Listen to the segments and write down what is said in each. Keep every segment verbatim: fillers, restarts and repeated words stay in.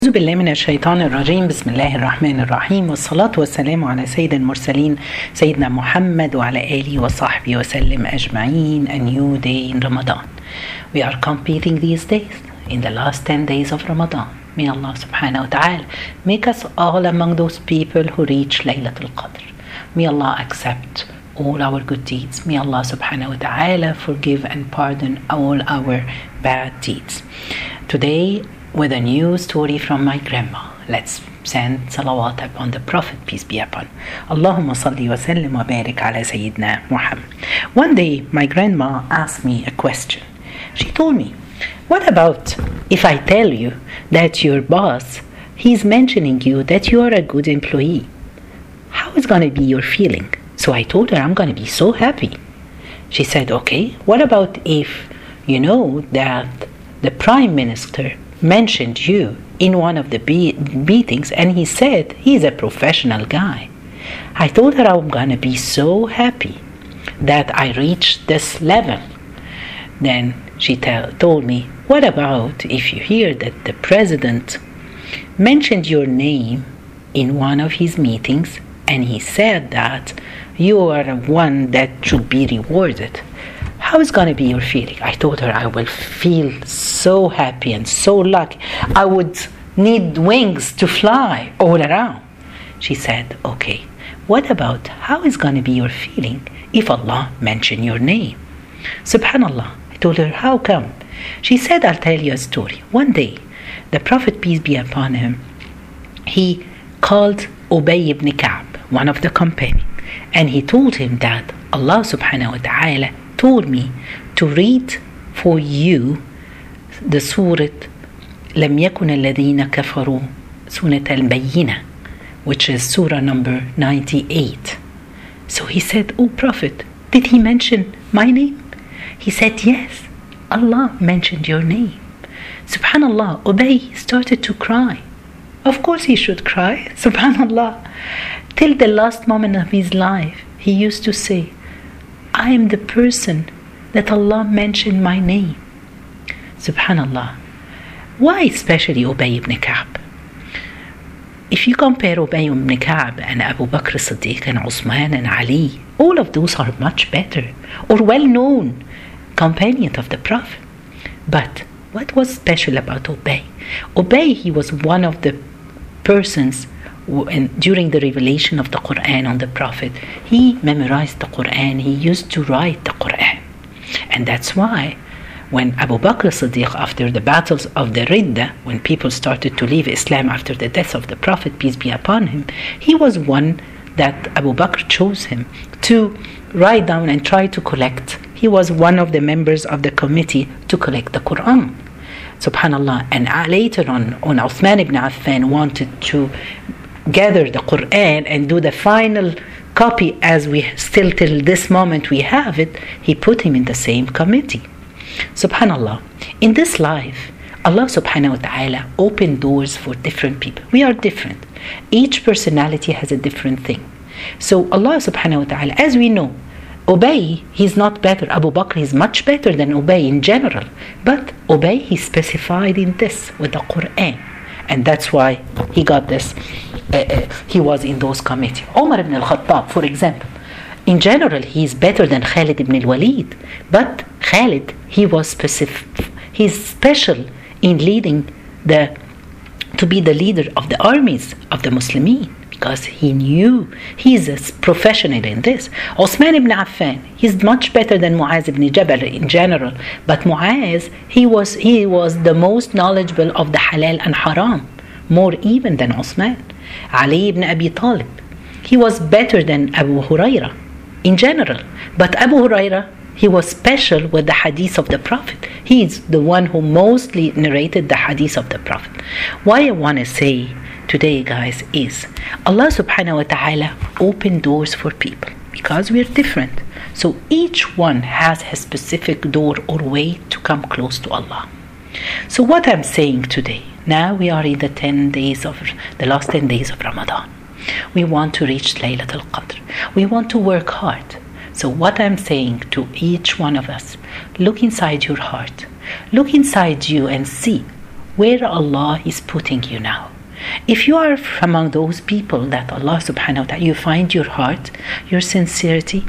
أعوذ بالله من الشيطان الرجيم. بسم الله الرحمن الرحيم، والصلاة والسلام على سيد المرسلين سيدنا محمد وعلى آله وصحبه وسلم أجمعين. A new day in Ramadan. We are completing these days in the last ten days of Ramadan. May Allah subhanahu wa ta'ala make us all among those people who reach Laylatul Qadr. May Allah accept all our good deeds. May Allah subhanahu wa ta'ala forgive and pardon all our bad deeds. Today, with a new story from my grandma. Let's send salawat upon the Prophet, peace be upon. Allahumma salli wa sallim wa barik ala Sayyidina Muhammad. One day, my grandma asked me a question. She told me, what about if I tell you that your boss, he's mentioning you that you are a good employee? How is going to be your feeling? So I told her, I'm going to be so happy. She said, okay, what about if you know that the Prime Minister mentioned you in one of the be- meetings and he said he's a professional guy? I told her I'm gonna be so happy that I reached this level. Then she t- told me, what about if you hear that the president mentioned your name in one of his meetings and he said that you are one that should be rewarded? How is going to be your feeling? I told her I will feel so happy and so lucky. I would need wings to fly all around. She said, okay, what about how is going to be your feeling if Allah mentioned your name? Subhanallah. I told her, how come? She said, I'll tell you a story. One day, the Prophet, peace be upon him, he called Ubay ibn Ka'b, one of the companions, and he told him that Allah subhanahu wa ta'ala told me to read for you the Surah لم يكن الذين كفروا سورة البينة, which is Surah number ninety-eight. So he said, oh Prophet, did he mention my name? He said, yes, Allah mentioned your name. Subhanallah, Ubay started to cry. Of course he should cry, subhanallah. Till the last moment of his life, he used to say, I am the person that Allah mentioned my name. Subhanallah. Why especially Ubay ibn Ka'b? If you compare Ubay ibn Ka'b and Abu Bakr as-Siddiq and Uthman and Ali, all of those are much better or well-known companions of the Prophet. But what was special about Ubay? Ubay, he was one of the persons And during the revelation of the Quran on the Prophet, he memorized the Quran, he used to write the Quran. And that's why when Abu Bakr as-Siddiq, after the battles of the Ridda, when people started to leave Islam after the death of the Prophet, peace be upon him, he was one that Abu Bakr chose him to write down and try to collect. He was one of the members of the committee to collect the Quran. Subhanallah. And later on, when Uthman ibn Affan wanted to gather the Quran and do the final copy, as we still till this moment we have it, he put him in the same committee. Subhanallah. In this life, Allah subhanahu wa ta'ala opened doors for different people. We are different. Each personality has a different thing. So Allah subhanahu wa ta'ala, as we know, Ubay, he's not better. Abu Bakr is much better than Ubay in general. But Ubay, he specified in this with the Quran. And that's why he got this. Uh, uh, he was in those committees. Umar ibn al-Khattab, for example, in general, he is better than Khalid ibn al-Walid. But Khalid, he was specific. He's special in leading the, to be the leader of the armies of the Muslimin, because he knew he's a professional in this. Uthman ibn Affan, he's much better than Muaz ibn Jabal in general. But Muaz, he was he was the most knowledgeable of the halal and haram, more even than Uthman. Ali ibn Abi Talib, he was better than Abu Huraira in general. But Abu Huraira, he was special with the hadith of the Prophet. He is the one who mostly narrated the hadith of the Prophet. Why I want to say today, guys, is Allah subhanahu wa ta'ala opened doors for people because we're different. So each one has a specific door or way to come close to Allah. So what I'm saying today, now we are in the ten days of the last ten days of Ramadan. We want to reach Laylatul Qadr. We want to work hard. So what I'm saying to each one of us, look inside your heart. Look inside you and see where Allah is putting you now. If you are among those people that Allah subhanahu wa ta'ala, you find your heart, your sincerity,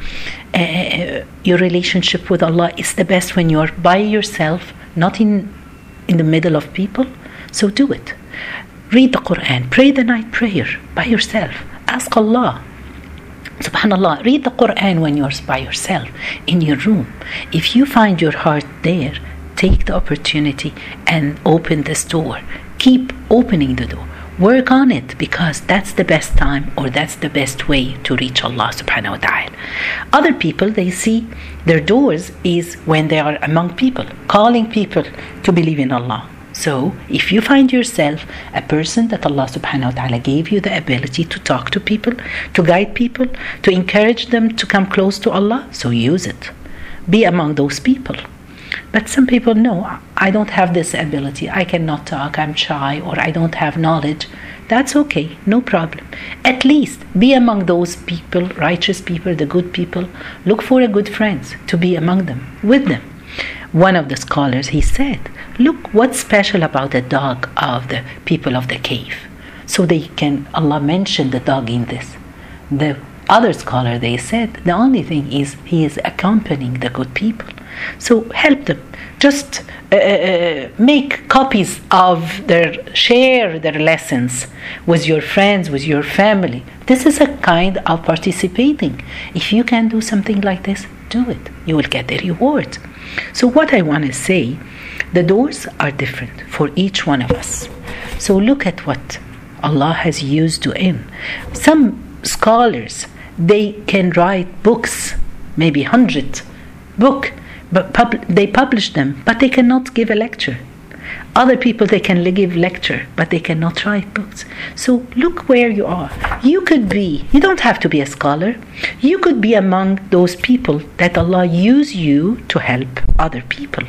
uh, your relationship with Allah is the best when you are by yourself, not in, in the middle of people, so do it. Read the Quran, pray the night prayer by yourself. Ask Allah. Subhanallah, read the Quran when you're by yourself in your room. If you find your heart there, take the opportunity and open this door. Keep opening the door. Work on it, because that's the best time, or that's the best way to reach Allah subhanahu wa ta'ala. Other people, they see their doors is when they are among people, calling people to believe in Allah. So if you find yourself a person that Allah subhanahu wa ta'ala gave you the ability to talk to people, to guide people, to encourage them to come close to Allah, so use it. Be among those people. But some people, no, I don't have this ability. I cannot talk, I'm shy, or I don't have knowledge. That's okay, no problem. At least be among those people, righteous people, the good people. Look for a good friends to be among them, with them. One of the scholars, he said, look what's special about the dog of the people of the cave. So they can, Allah mentioned the dog in this. The other scholar, they said, the only thing is he is accompanying the good people. So help them. Just uh, uh, make copies of their, share their lessons with your friends, with your family. This is a kind of participating. If you can do something like this, do it. You will get the reward. So what I want to say, the doors are different for each one of us. So look at what Allah has used you in. Some scholars, they can write books, maybe hundred book, but pub- they publish them, but they cannot give a lecture. Other people, they can give lecture, but they cannot write books. So look where you are. You could be, you don't have to be a scholar. You could be among those people that Allah use you to help other people.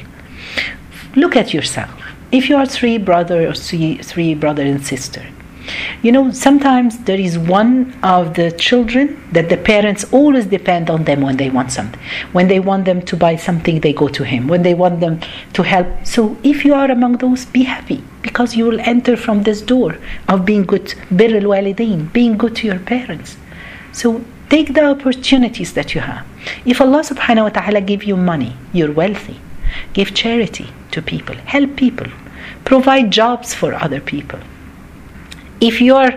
Look at yourself. If you are three brother or three, three brother and sister, you know, sometimes there is one of the children that the parents always depend on them when they want something. When they want them to buy something, they go to him. When they want them to help. So if you are among those, be happy, because you will enter from this door of being good, bir al-walidain, being good to your parents. So take the opportunities that you have. If Allah subhanahu wa ta'ala give you money, you're wealthy. Give charity to people. Help people. Provide jobs for other people. If you are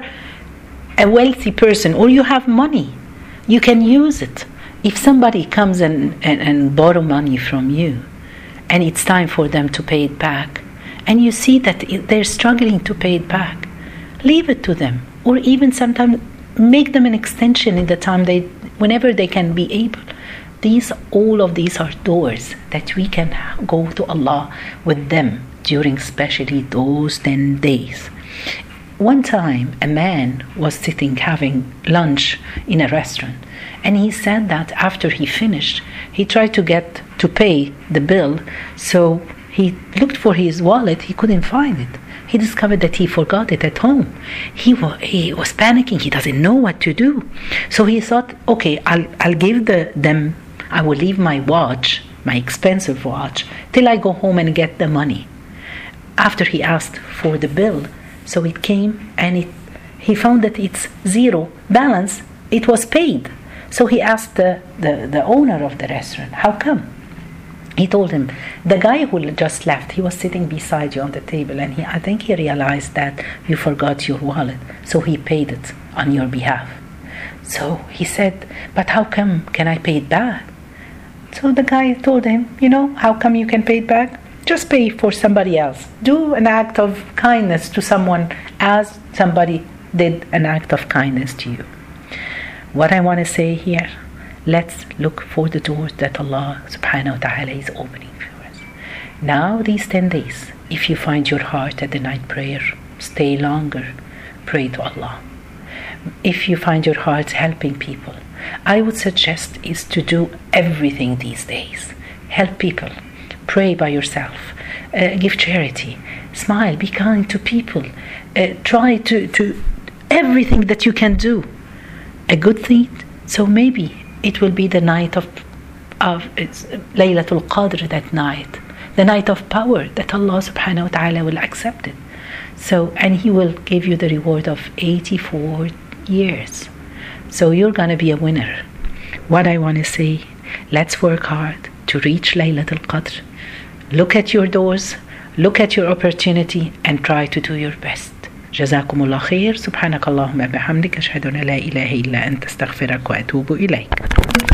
a wealthy person or you have money, you can use it. If somebody comes and, and, and borrow money from you, and it's time for them to pay it back, and you see that they're struggling to pay it back, leave it to them. Or even sometimes make them an extension in the time they, whenever they can be able. These, all of these are doors that we can go to Allah with them during especially those ten days. One time, a man was sitting having lunch in a restaurant, and he said that after he finished, he tried to get to pay the bill, so he looked for his wallet, he couldn't find it. He discovered that he forgot it at home. He was, he was panicking, he doesn't know what to do. So he thought, okay, I'll, I'll give the, them, I will leave my watch, my expensive watch, till I go home and get the money. After he asked for the bill, so it came, and it, he found that it's zero balance. It was paid. So he asked the, the, the owner of the restaurant, how come? He told him, the guy who just left, he was sitting beside you on the table, and he, I think he realized that you forgot your wallet, so he paid it on your behalf. So he said, but how come can I pay it back? So the guy told him, you know, how come you can pay it back? Just pay for somebody else. Do an act of kindness to someone as somebody did an act of kindness to you. What I want to say here, let's look for the doors that Allah subhanahu wa ta'ala is opening for us. Now these ten days, if you find your heart at the night prayer, stay longer, pray to Allah. If you find your heart helping people, I would suggest is to do everything these days. Help people. Pray by yourself, uh, give charity, smile, be kind to people, uh, try to, to everything that you can do, a good thing. So maybe it will be the night of, of it's Laylatul Qadr that night. the night of power that Allah subhanahu wa ta'ala will accept it. So, and He will give you the reward of eighty-four years. So you're going to be a winner. What I want to say, let's work hard to reach Laylatul Qadr. Look at your doors, look at your opportunity, and try to do your best. جزاكم الله خير. سبحانك اللهم بحمدك أشهد أن لا إله إلا أنت أستغفرك وأتوب إليك.